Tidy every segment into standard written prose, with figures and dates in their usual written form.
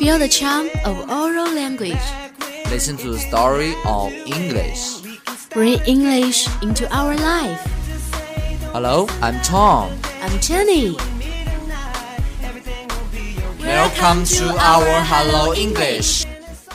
Feel the charm of oral language. Listen to the story of English. Bring English into our life. Hello, I'm Tom. I'm Jenny. Welcome to our Hello English.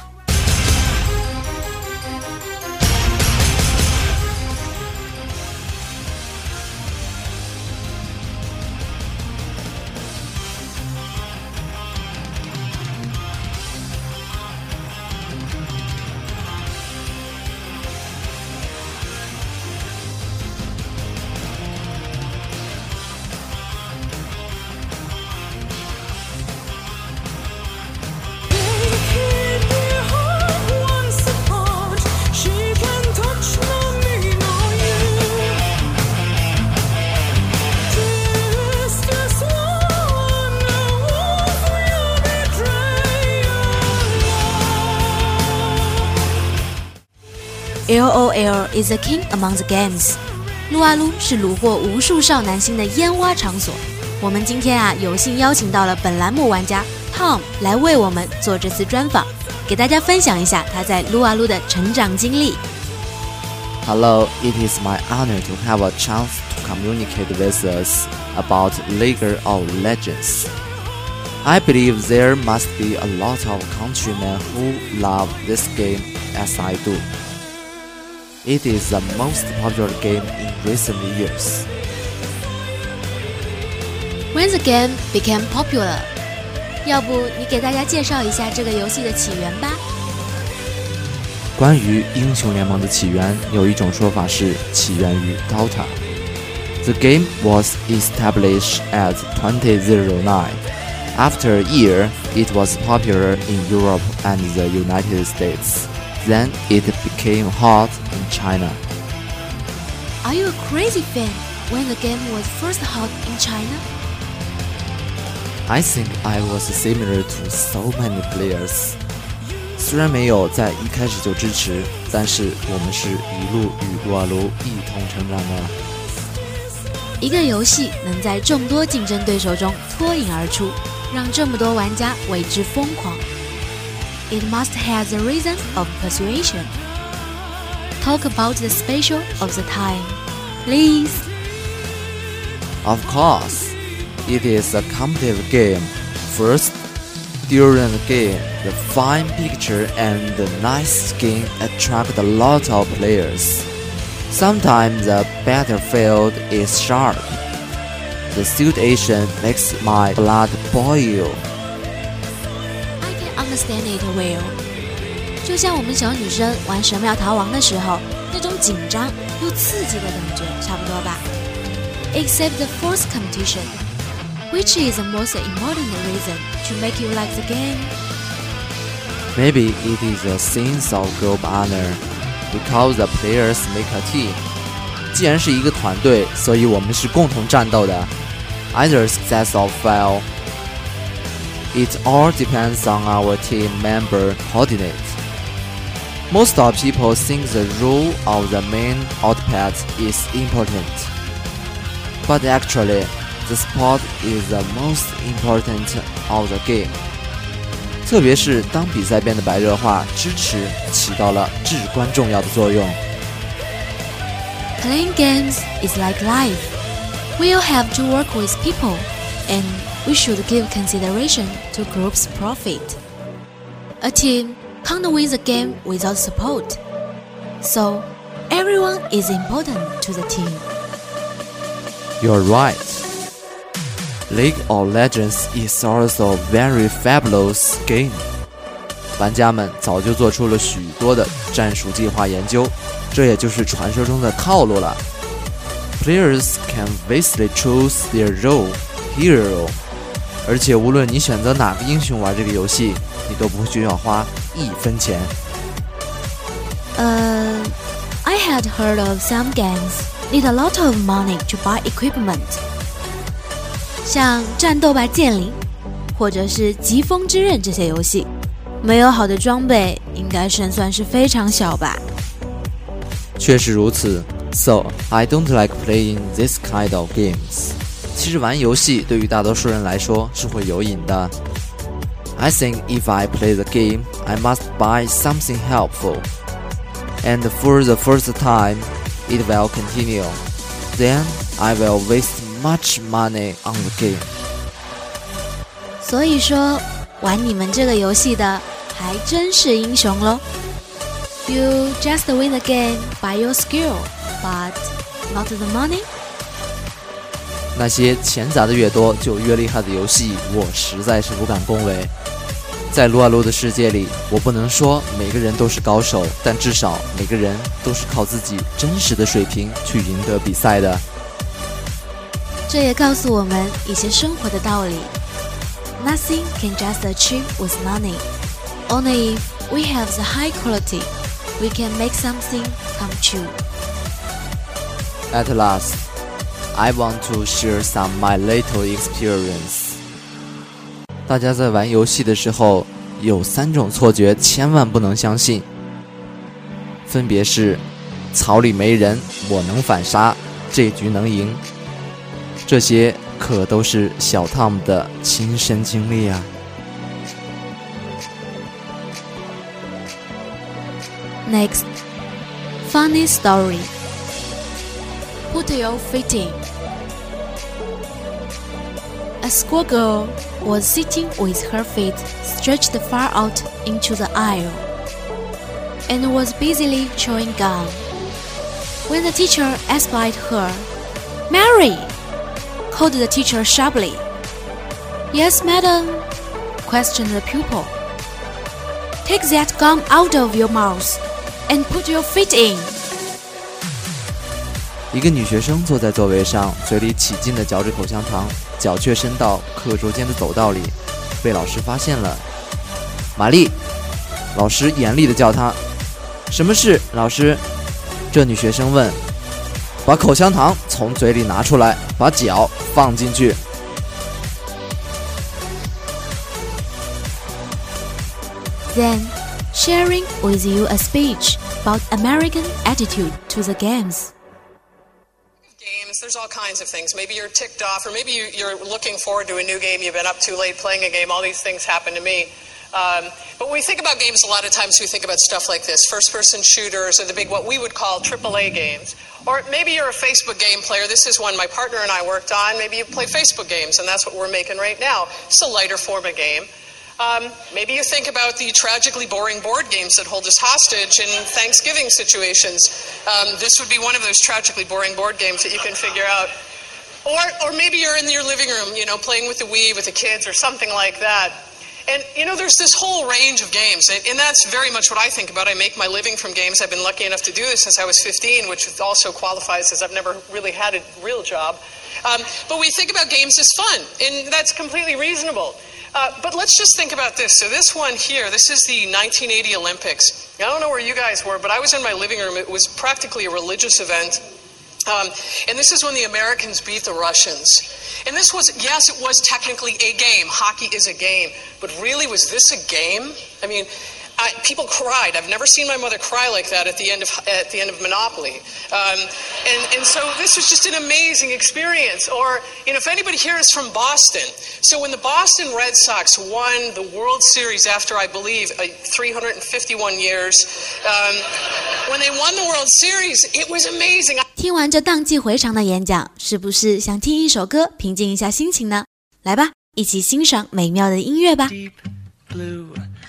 LOL is a king among the games. 撸啊撸是虏获无数少男心的烟花场所。我们今天有幸邀请到了本栏目玩家 Tom 来为我们做这次专访，给大家分享一下他在撸啊撸的成长经历。 Hello, it is my honor to have a chance to communicate with us about League of Legends. I believe there must be a lot of countrymen who love this game as I do.It is the most popular game in recent years. When the game became popular, 要不你给大家介绍一下这个游戏的起源吧？ 关于英雄联盟的起源，有一种说法是起源于 Dota. The game was established at 2009. After a year, it was popular in Europe and the United States.Then it became hot in China. Are you a crazy fan when the game was first hot in China? I think I was similar to so many players. 虽然没有在一开始就支持，但是我们是一路与撸啊撸一同成长的。 一个游戏能在众多竞争对手中脱颖而出，让这么多玩家为之疯狂。It must have the reason of persuasion. Talk about the special of the time, please. Of course, it is a competitive game. First, during the game, the fine picture and the nice skin attract a lot of players. Sometimes the battlefield is sharp. The situation makes my blood boil.Understand it well. 就像我们小女生玩神庙逃亡的时候，那种紧张又刺激的感觉差不多吧。Except the fourth competition, which is the most important reason to make you like the game. Maybe it is a sense of group honor, because the players make a team. 既然是一个团队，所以我们是共同战斗的。Either success or fail.It all depends on our team member coordinate. Most of people think the role of the main output is important. But actually, the sport is the most important of the game. 特别是当比赛变得白热化，支持起到了至关重要的作用。 Playing games is like life. We'll have to work with people, and we should give consideration to group's profit. A team can't win the game without support. So, everyone is important to the team. You're right. League of Legends is also a very fabulous game. 玩家们早就做出了许多的战术计划研究，这也就是传说中的套路了。Players can basically choose their role, hero.而且无论你选择哪个英雄玩这个游戏，你都不需要花1分钱。 I had heard of some games need a lot of money to buy equipment. 像战斗吧剑灵，或者是疾风之刃这些游戏，没有好的装备，应该胜算是非常小吧。 确实如此。So, I don't like playing this kind of games. 其实玩游戏对于大多数人来说是会有瘾的。 I think if I play the game, I must buy something helpful. And for the first time, it will continue. Then I will waste much money on the game. 所以说，玩你们这个游戏的还真是英雄咯。You just win the game by your skill, but not the money. 那些钱砸的越多就越厉害的游戏，我实在是不敢恭维。在撸啊撸的世界里，我不能说每个人都是高手，但至少每个人都是靠自己真实的水平去赢得比赛的。 这也告诉我们一些生活的道理。Nothing can just achieve with money. Only if we have the high quality, we can make something come true. At last, I want to share some my little experience. 大家在玩游戏的时候，有3种错觉千万不能相信，分别是草里没人，我能反杀，这局能赢。这些可都是小 Tom 的亲身经历啊。 Next, funny story. Put your feet in. A schoolgirl was sitting with her feet stretched far out into the aisle and was busily chewing gum. When the teacher espied her, "Mary!" called the teacher sharply. "Yes, madam," questioned the pupil. "Take that gum out of your mouth and put your feet in." 一个女学生坐在座位上，嘴里起劲地嚼着口香糖，脚却伸到课桌间的走道里，被老师发现了。玛丽，老师严厉地叫她。什么事，老师？这女学生问。把口香糖从嘴里拿出来，把脚放进去。 Then, sharing with you a speech about American attitude to the games. There's all kinds of things. Maybe you're ticked off, or maybe you're looking forward to a new game. You've been up too late playing a game. All these things happen to me. But when we think about games, a lot of times we think about stuff like this. First-person shooters, or the big, what we would call AAA games. Or maybe you're a Facebook game player. This is one my partner and I worked on. Maybe you play Facebook games, and that's what we're making right now. It's a lighter form of game. Maybe you think about the tragically boring board games that hold us hostage in Thanksgiving situations. This would be one of those tragically boring board games that you can figure out. Or maybe you're in your living room, playing with the Wii with the kids or something like that. And, there's this whole range of games, and that's very much what I think about. I make my living from games. I've been lucky enough to do this since I was 15, which also qualifies as I've never really had a real job. But we think about games as fun, and that's completely reasonable. But let's just think about this. So this one here, this is the 1980 Olympics. I don't know where you guys were, but I was in my living room. It was practically a religious event. And this is when the Americans beat the Russians. And this was, yes, it was technically a game. Hockey is a game. But really, was this a game? I mean, people cried. I've never seen my mother cry like that at the end of Monopoly. And so this was just an amazing experience. Or, if anybody here is from Boston. So when the Boston Red Sox won the World Series after, I believe, 351 years, when they won the World Series, it was amazing. 听完这荡气回肠的演讲，是不是想听一首歌平静一下心情呢？来吧，一起欣赏美妙的音乐吧。 Deep blue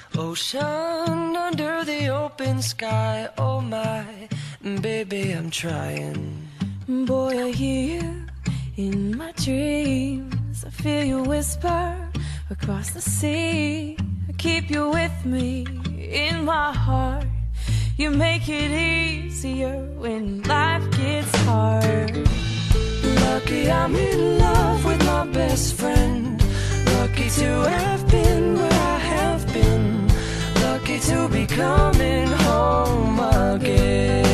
ocean under the open sky. Oh my, baby, I'm trying. Boy, I hear you in my dreams. I feel you whisper across the sea. I keep you with me in my heart. You make it easier when life gets hard. Lucky I'm in love with my best friend. Lucky to have been where I have been. Lucky to be coming home again.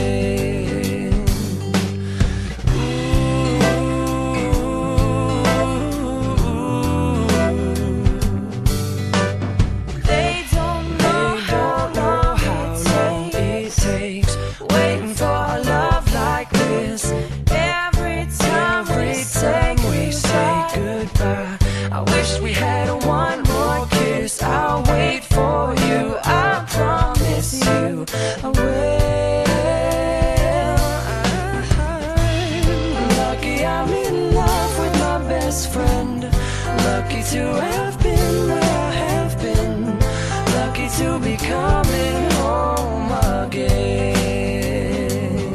They don't know how long it takes waiting for a love like this. Every time we say goodbye, I wish we had one more kiss. I to have been where I have been, lucky to be coming home again.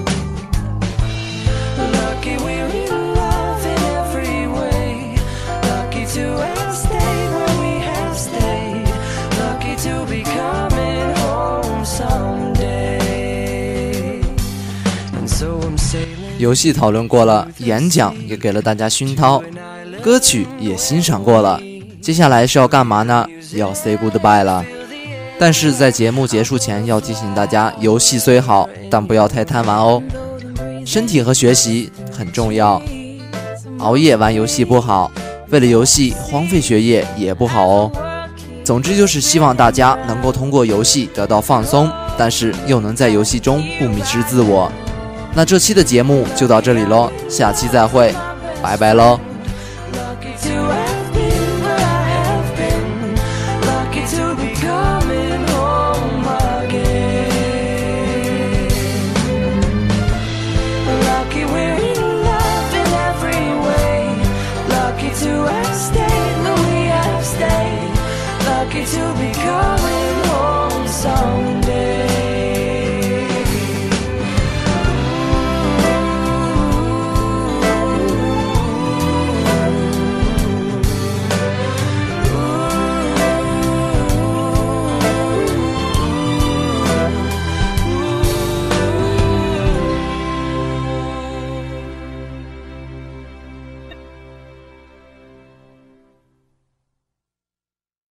Lucky we're in love in every way, lucky to have stayed where we have stayed, lucky to be coming home someday. And so I'm sailing. 游戏讨论过了，演讲也给了大家熏陶，歌曲也欣赏过了，接下来是要干嘛呢？要 say goodbye 了。但是在节目结束前要提醒大家，游戏虽好，但不要太贪玩哦，身体和学习很重要，熬夜玩游戏不好，为了游戏荒废学业也不好哦。总之就是希望大家能够通过游戏得到放松，但是又能在游戏中不迷失自我。那这期的节目就到这里咯，下期再会，拜拜咯。Lucky we're